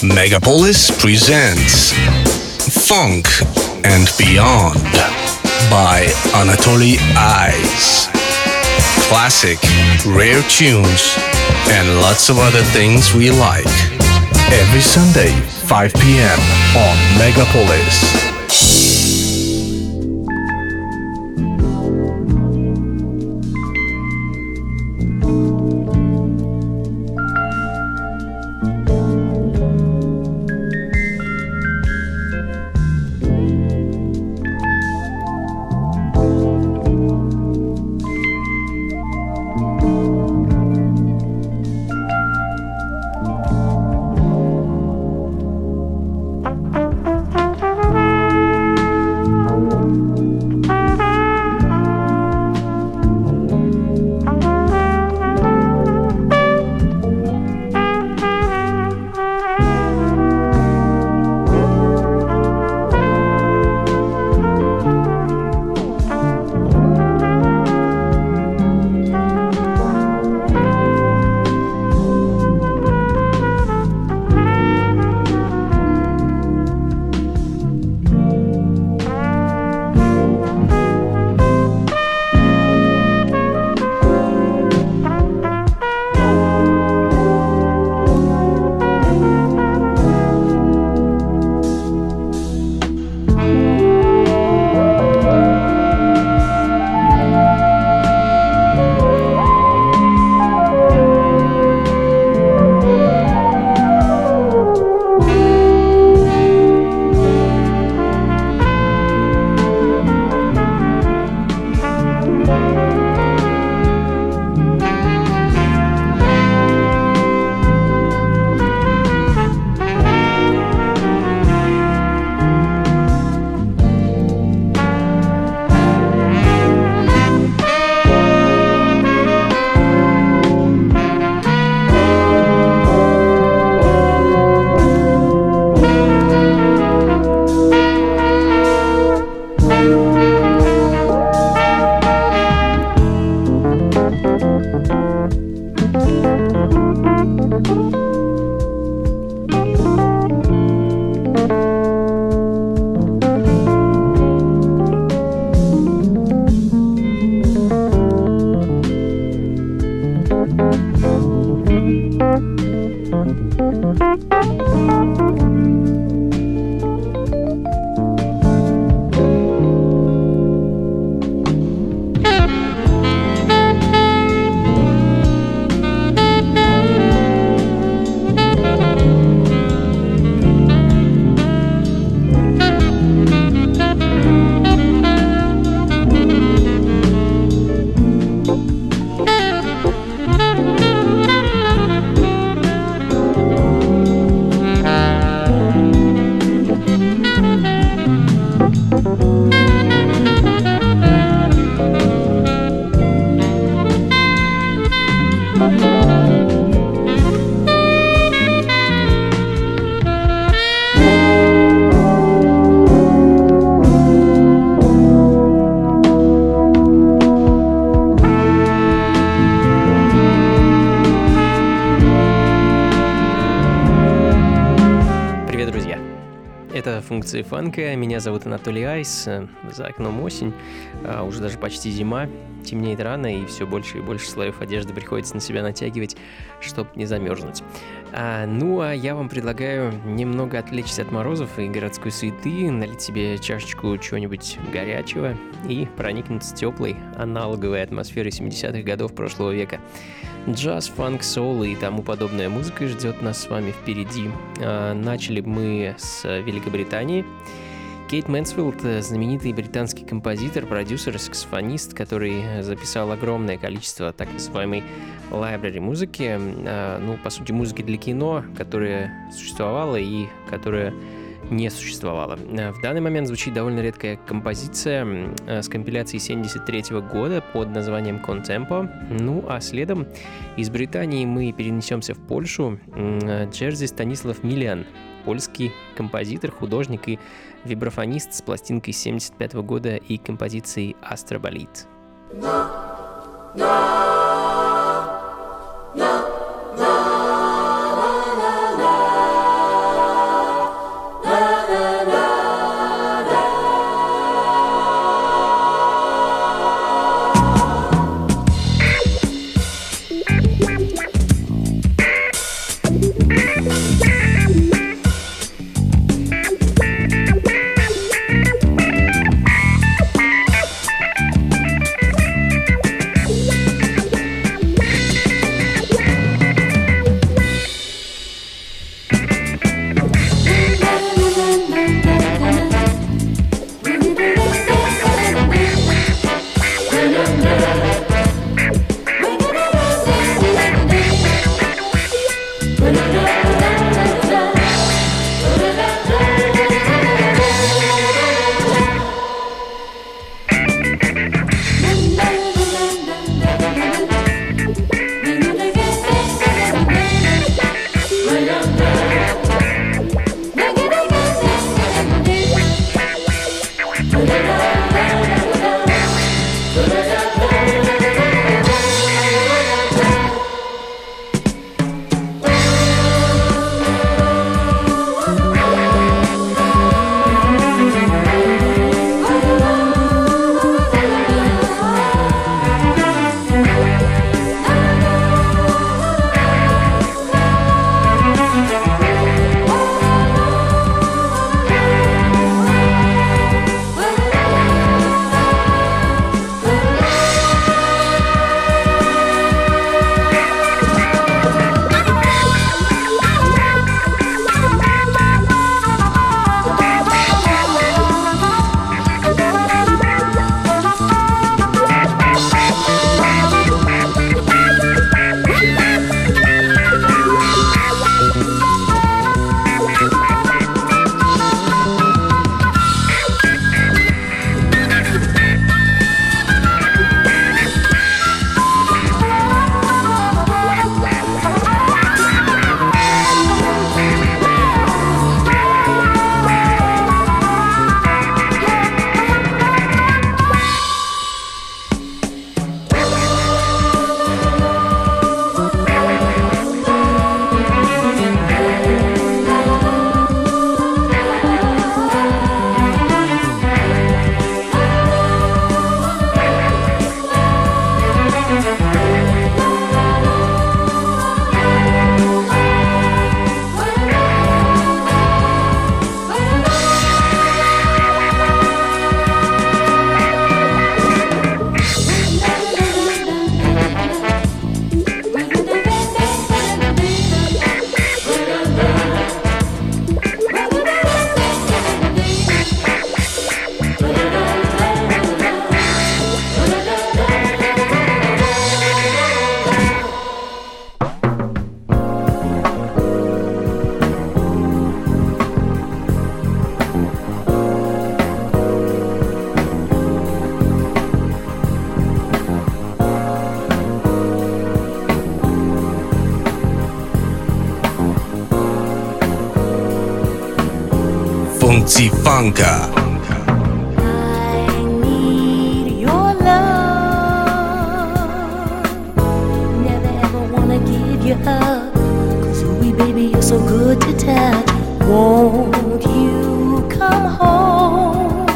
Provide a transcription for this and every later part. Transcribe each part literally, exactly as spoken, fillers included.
Megapolis presents Funk and Beyond by Anatoly Eyes. Classic, rare tunes, and lots of other things we like. Every Sunday, five p.m. on Megapolis. Функции фанка. Меня зовут Анатолий Айс. За окном осень, а уже даже почти зима. Темнеет рано, и все больше и больше слоев одежды приходится на себя натягивать, чтобы не замерзнуть. А, ну, а я вам предлагаю немного отвлечься от морозов и городской суеты, налить себе чашечку чего-нибудь горячего и проникнуться теплой, аналоговой атмосферой семидесятых годов прошлого века. Джаз, фанк, соул и тому подобная музыка ждет нас с вами впереди. А, начали мы с Великобритании. Кейт Мэнсфилд, знаменитый британский композитор, продюсер, саксофонист, который записал огромное количество так называемой library музыки, ну, по сути, музыки для кино, которая существовала и которая не существовало. В данный момент звучит довольно редкая композиция с компиляции семьдесят третьего года под названием Contempo. Ну а следом из Британии мы перенесемся в Польшу. Джерзи Станислав Миллиан, польский композитор, художник и вибрафонист с пластинкой семьдесят пятого года и композицией «Астроболит». Funka. So good to touch. Won't you come home?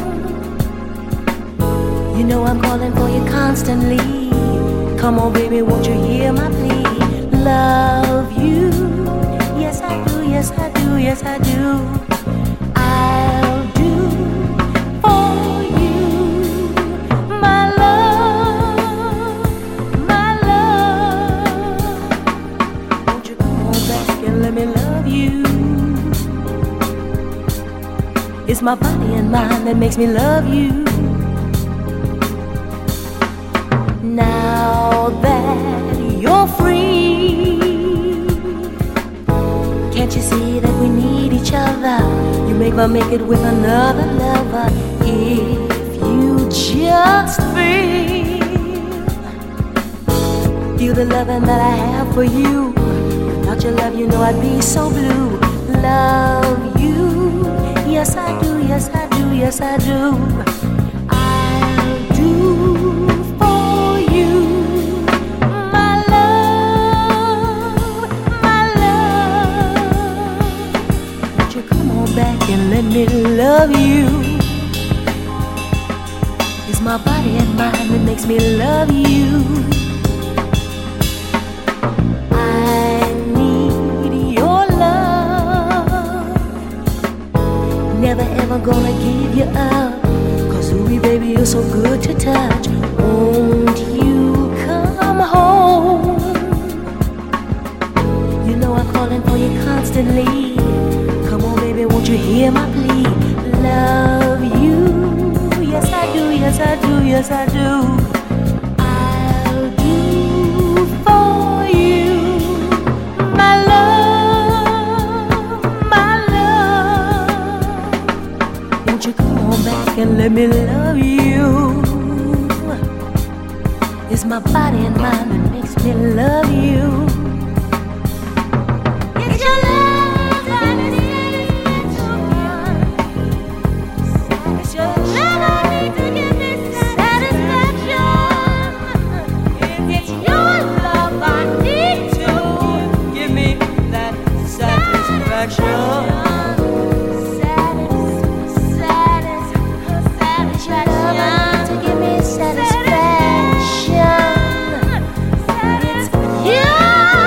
You know I'm calling for you constantly. Come on, baby, won't you hear my plea? Love you. Yes, I do, yes, I do, yes, I do. I'll do for you, my love, my love. Won't you come on back and let me love you? It's my body and mind that makes me love you. Now that you're free, can't you see that we need each other? You make my make it with another lover. If you just feel, feel the loving that I have for you. Without your love, you know I'd be so blue. Love you, yes I do, yes I do, yes I do. I'll do for you, my love, my love. Won't you come on back and let me love you? It's my body and mind that makes me love you. Never ever gonna give you up, cause ooh baby you're so good to touch. Won't you come home? You know I'm calling for you constantly. Come on baby, won't you hear my plea? Love you, yes I do, yes I do, yes I do. I'll do for you, my love. Won't you come on back and let me love you? It's my body and mind that makes me love you. It's your love that is satisfaction. It's your love I need to give me satisfaction. It's your love I need to give me that satisfaction. Satisfaction. It's you.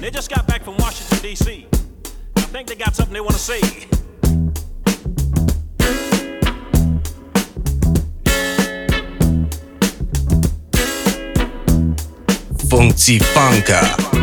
They just got back from Washington, D C I think they got something they want to say. Funky Funka.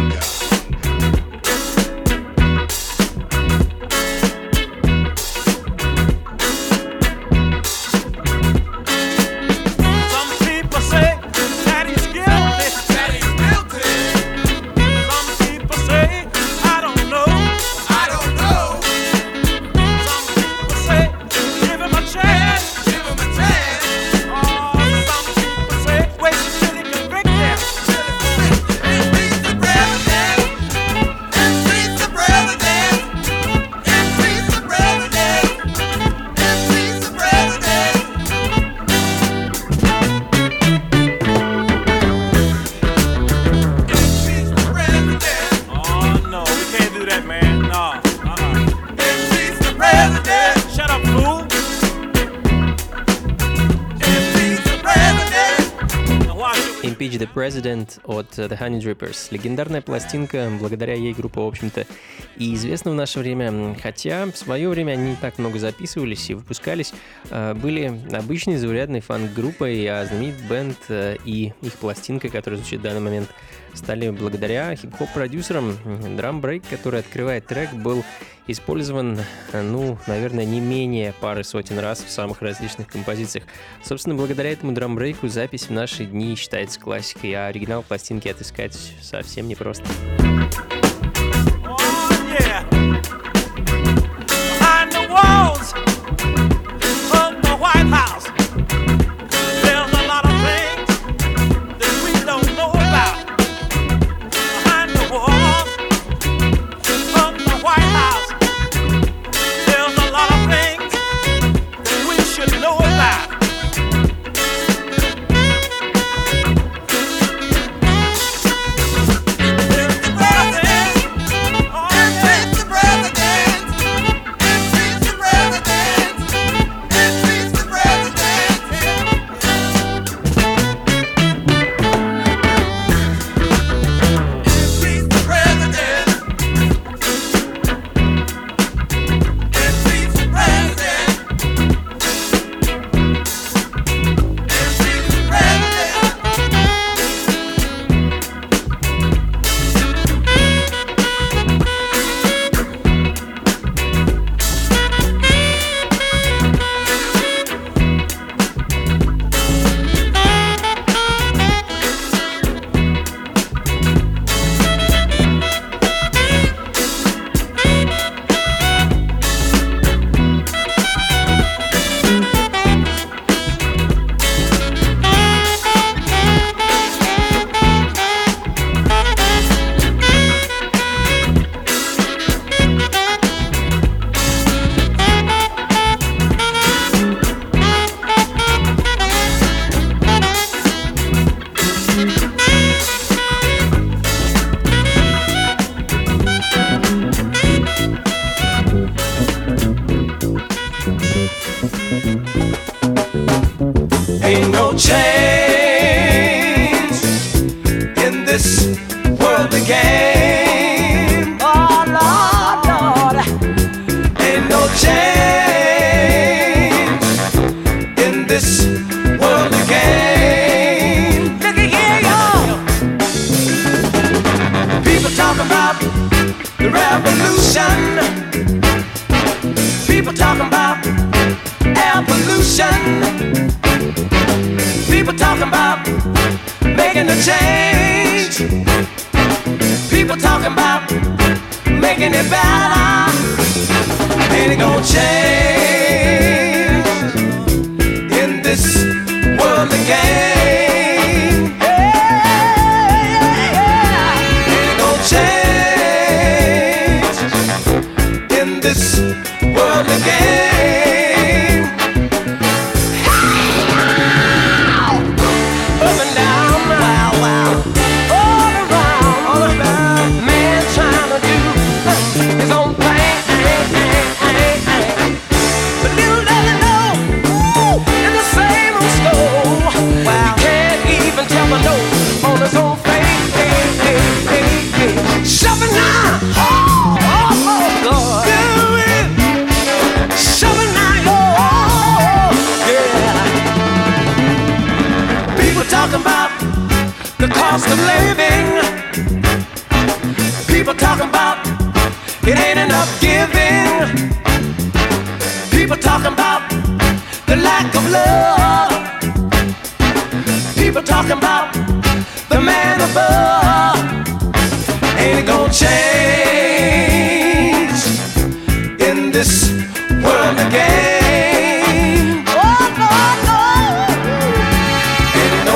Impeach the President от The Honey Drippers. Легендарная пластинка, благодаря ей группа, в общем-то, и известна в наше время. Хотя в свое время они не так много записывались и выпускались. Были обычной заурядной фанк-группой, а знаменит бенд и их пластинка, которая звучит в данный момент, стали благодаря хип-хоп-продюсерам. Драм-брейк, который открывает трек, был использован, ну, наверное, не менее пары сотен раз в самых различных композициях. Собственно, благодаря этому драм-брейку запись в наши дни считается классикой, а оригинал пластинки отыскать совсем непросто. Ain't no change in this world again. Oh, Lord, Lord. Ain't no change in this world again. Look at here, y'all. People talk about the revolution. People talking about air pollution. People talking about making a change. People talking about making it better. Ain't it gonna change in this world again? Yeah, yeah, yeah. Ain't it gonna change in this world again? about the cost of living. People talking about it ain't enough giving. People talking about the lack of love. People talking about the man above. Ain't it gonna change in this world again? Oh, no, no. Ain't no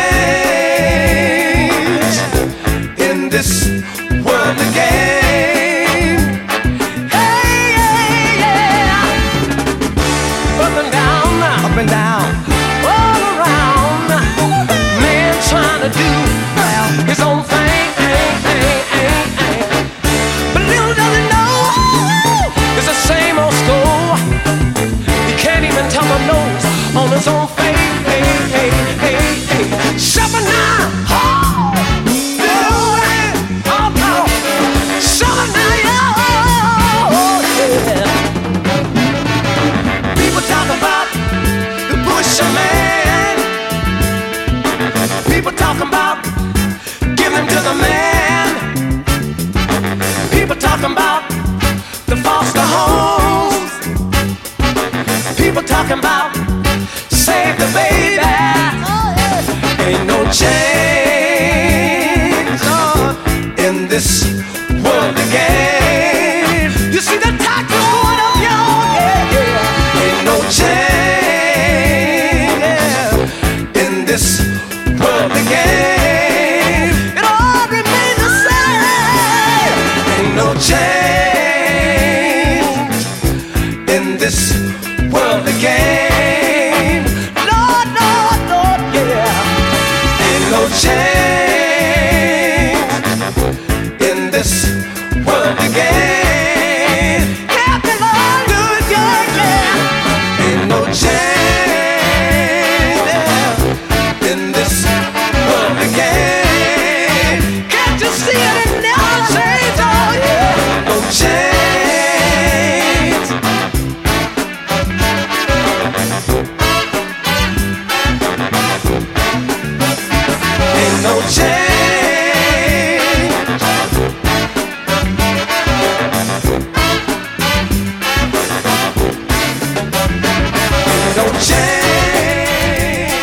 change in this world again. Hey, yeah, yeah. Up and down, up and down, all around. Man trying to do well his own thing. But little does he know, it's the same old school. He can't even tell the nose on his own face. Hey, hey, hey, hey. Suffer now. Oh, yeah. Oh, no. Suffer now, yeah. Oh, yeah. People talk about the Busherman. People talk about giving him to the man. People talking about the foster homes. People talking about save the baby. Ain't no change uh, in this world again. You see the tide going up, y'all. Yeah, yeah. Ain't no change in this world again. It all remains the same. Ain't no change in this world again. Lord, Lord, Lord, yeah. Ain't no change in this world again. Yeah, the Lord, good, yeah, yeah. Ain't no change yeah, in this world again. Can't you see it? It never changes, oh yeah. No change. Ain't no change. Ain't no change.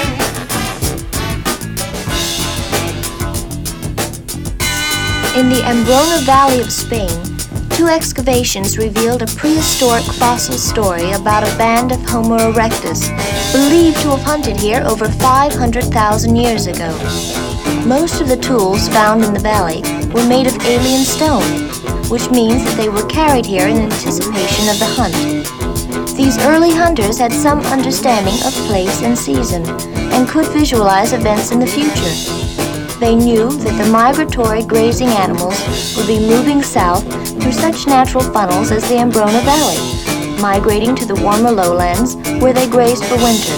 In the Ambrona Valley of Spain, two excavations revealed a prehistoric fossil story about a band of Homo erectus, believed to have hunted here over five hundred thousand years ago. Most of the tools found in the valley were made of alien stone, which means that they were carried here in anticipation of the hunt. These early hunters had some understanding of place and season, and could visualize events in the future. They knew that the migratory grazing animals would be moving south through such natural funnels as the Ambrona Valley, migrating to the warmer lowlands where they grazed for winter.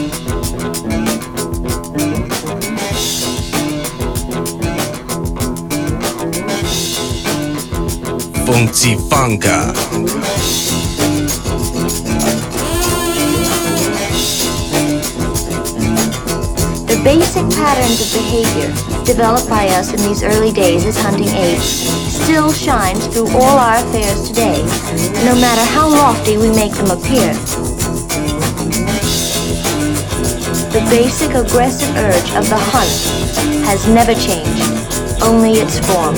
Funky Funka. The basic patterns of behavior developed by us in these early days as hunting apes still shines through all our affairs today, no matter how lofty we make them appear. The basic aggressive urge of the hunt has never changed, only its form.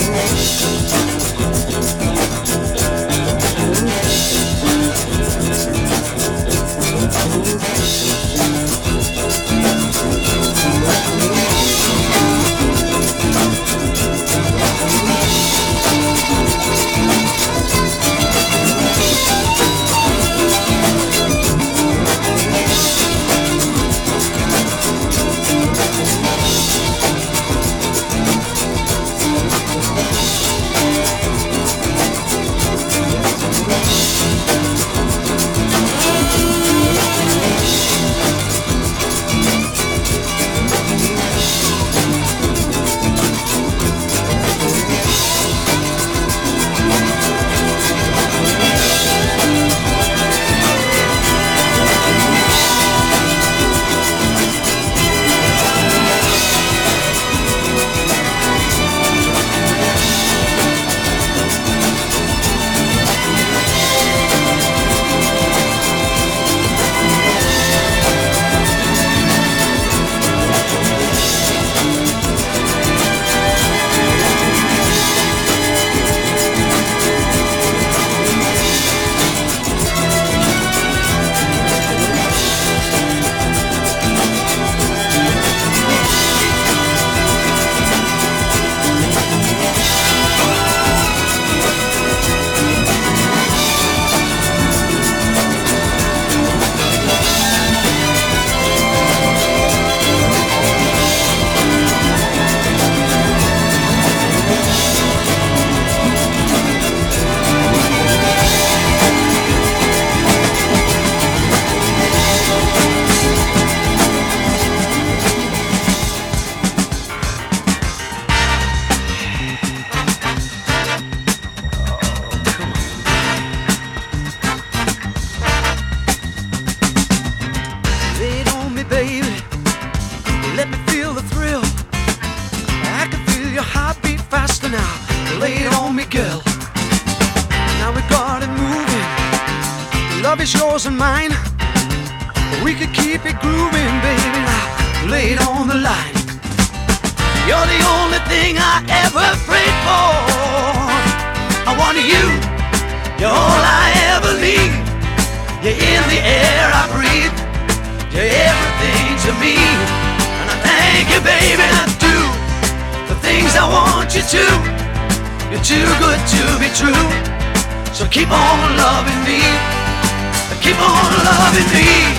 is yours and mine. We could keep it grooving, baby. Now lay it on the line. You're the only thing I ever prayed for. I want you. You're all I ever need. You're in the air I breathe. You're everything to me. And I thank you, baby, and I do the things I want you to. You're too good to be true. So keep on loving me. Keep on loving me.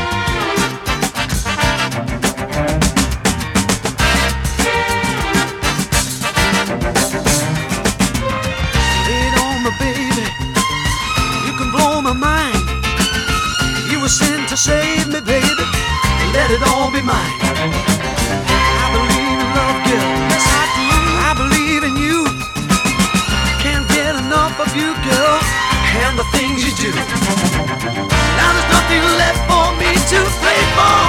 Lay it on me, baby. You can blow my mind. You were sent to save me, baby. Let it all be mine. I believe in love, girl. Yes, I do. I believe in you. Can't get enough of you, girl, and the things you do. Now there's nothing left for me to play for.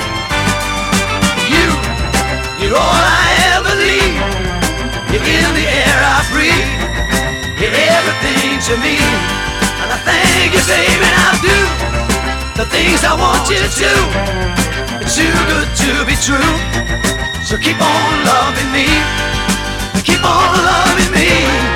You, you're all I ever need. You're in the air I breathe. You're everything to me. And I thank you, baby, and I do the things I want you to. It's too good to be true. So keep on loving me. Keep on loving me.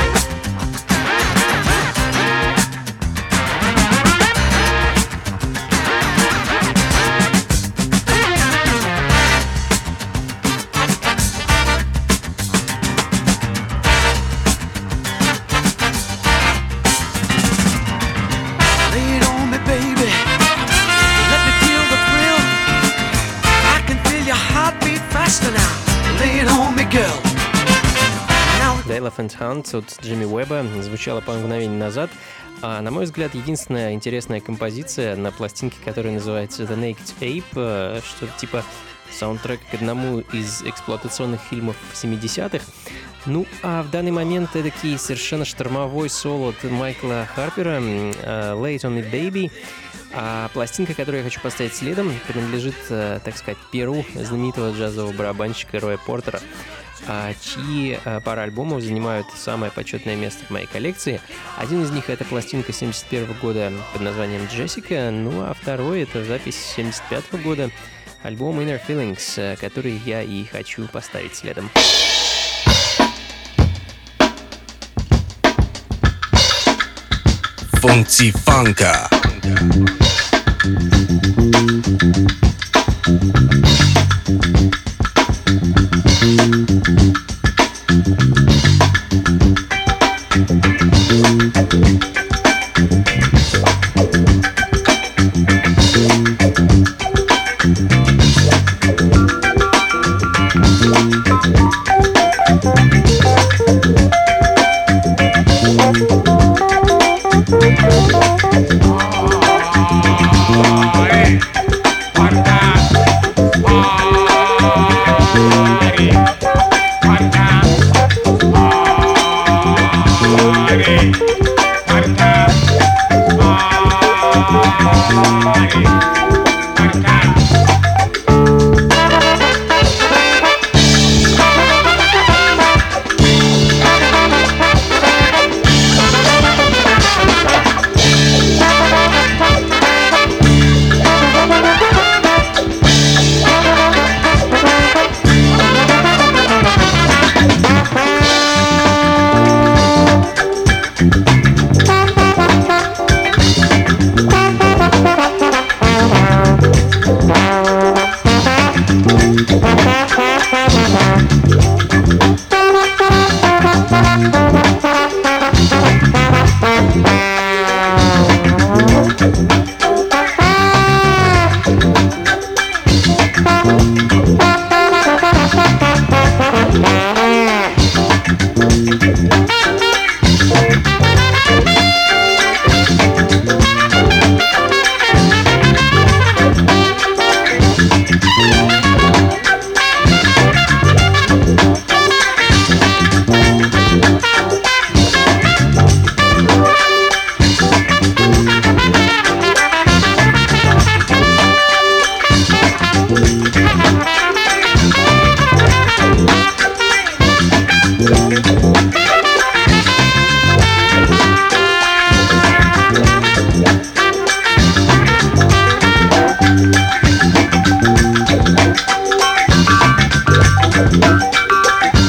The Elephant Hunt от Джимми Уэбба звучала пару мгновений назад. А, на мой взгляд, единственная интересная композиция на пластинке, которая называется The Naked Ape, что-то типа саундтрек к одному из эксплуатационных фильмов семидесятых. Ну, а в данный момент эдакий совершенно штормовой соло от Майкла Харпера «Lay It On Me, Baby». А пластинка, которую я хочу поставить следом, принадлежит, так сказать, перу знаменитого джазового барабанщика Роя Портера, чьи пара альбомов занимают самое почетное место в моей коллекции. Один из них — это пластинка семьдесят первого года под названием «Джессика», ну а второй — это запись семьдесят пятого года, альбом «Inner Feelings», который я и хочу поставить следом. Funky Funka. I'm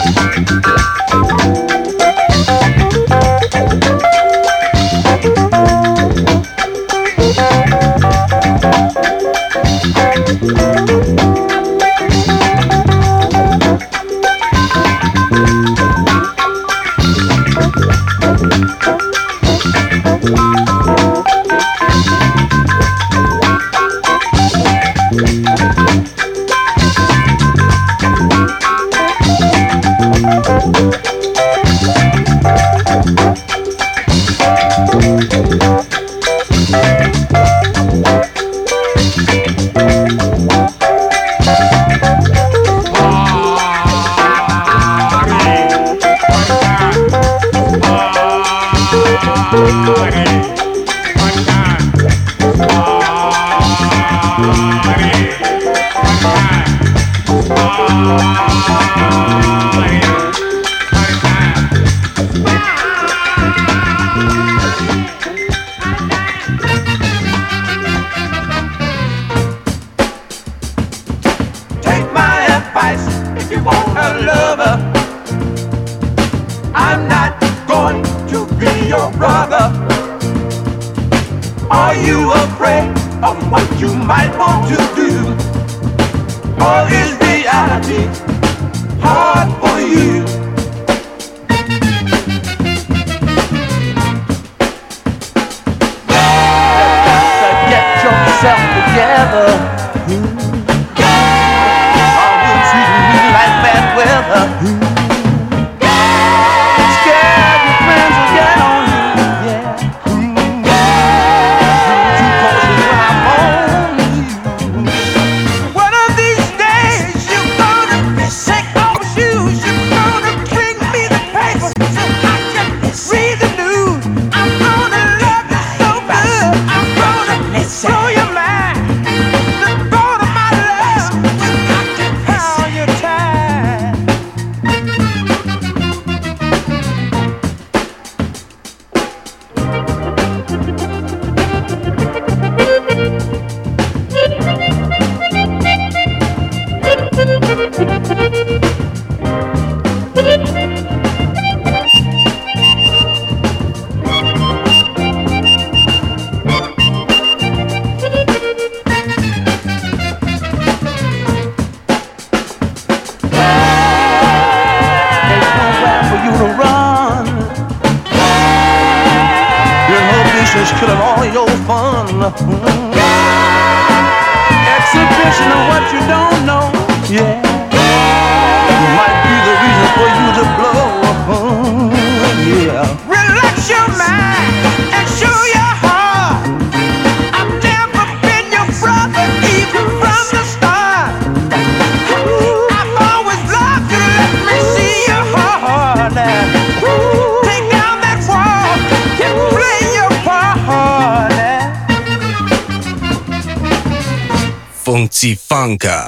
Funky Funka.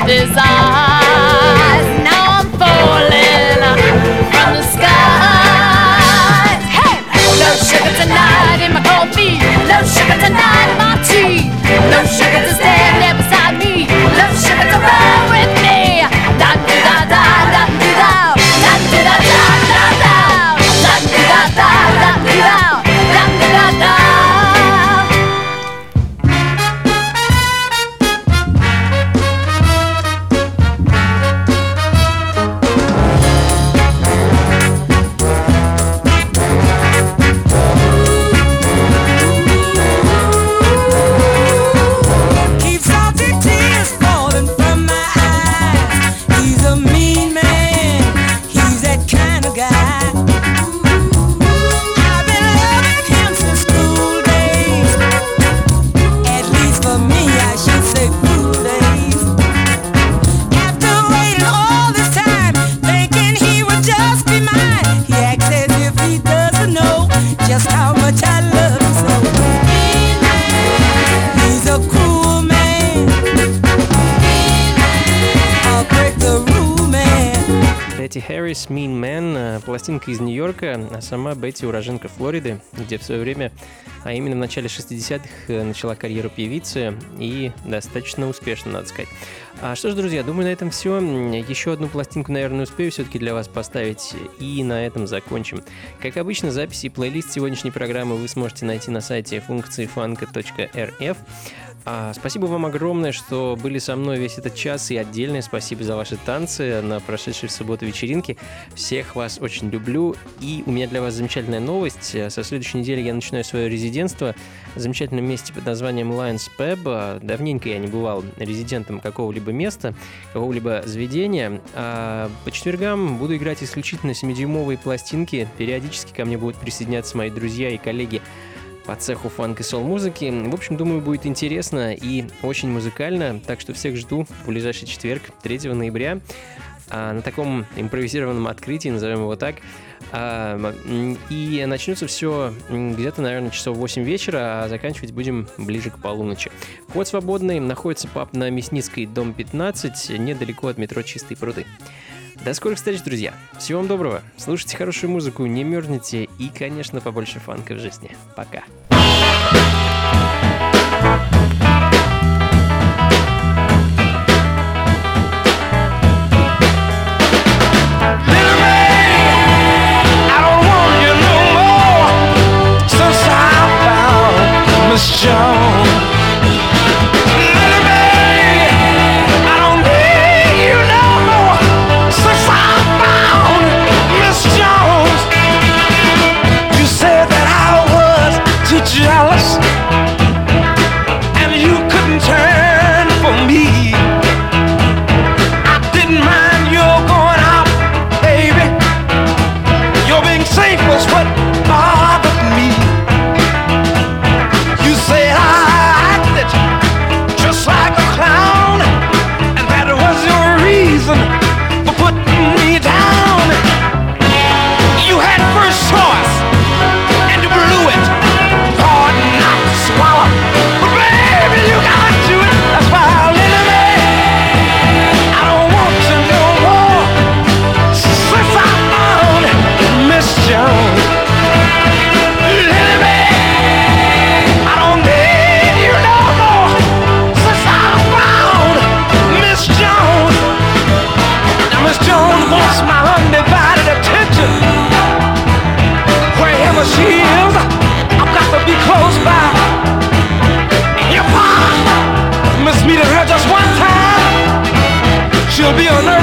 with his eyes. Now I'm falling from the skies. Hey, no sugar tonight in my coffee. No sugar tonight in my tea. No sugar to stand there beside me. No sugar to roll with me. Da da da da da da da da da da da da da da da da da da da da. Бетти Харрис, Mean Man, пластинка из Нью-Йорка, а сама Бетти уроженка Флориды, где в свое время, а именно в начале шестидесятых, начала карьеру певицы и достаточно успешно, надо сказать. А что ж, друзья, думаю, на этом все. Еще одну пластинку, наверное, успею все-таки для вас поставить, и на этом закончим. Как обычно, записи и плейлист сегодняшней программы вы сможете найти на сайте функции фанка точка эр эф. А, спасибо вам огромное, что были со мной весь этот час, и отдельное спасибо за ваши танцы на прошедшей в субботу вечеринке. Всех вас очень люблю, и у меня для вас замечательная новость. Со следующей недели я начинаю свое резидентство в замечательном месте под названием Lions Pub. Давненько я не бывал резидентом какого-либо места, какого-либо заведения. А по четвергам буду играть исключительно семидюймовые пластинки. Периодически ко мне будут присоединяться мои друзья и коллеги по цеху фанк и сол-музыки. В общем, думаю, будет интересно и очень музыкально, так что всех жду в ближайший четверг, третьего ноября, а, на таком импровизированном открытии, назовем его так. А, и начнется все где-то, наверное, часов восемь вечера, а заканчивать будем ближе к полуночи. Вход свободный, находится паб на Мясницкой, дом пятнадцать, недалеко от метро Чистые пруды. До скорых встреч, друзья. Всего вам доброго. Слушайте хорошую музыку, не мерзните и, конечно, побольше фанка в жизни. Пока. Jealous, and you couldn't turn for me. I didn't mind your going out, baby. Your being safe was what bothered me. You said I acted just like a clown, and that was your reason for putting me down. You had first choice, and you blew it. Swallow. But baby, you got to it. That's why I'll let me. I don't want you no more. Since I found Miss Jones, let me. I don't need you no more. Since I found Miss Jones. Now Miss Jones wants my undivided attention. Wherever she is, I've got to be close by. Miss meeting her just one time, she'll be a nurse.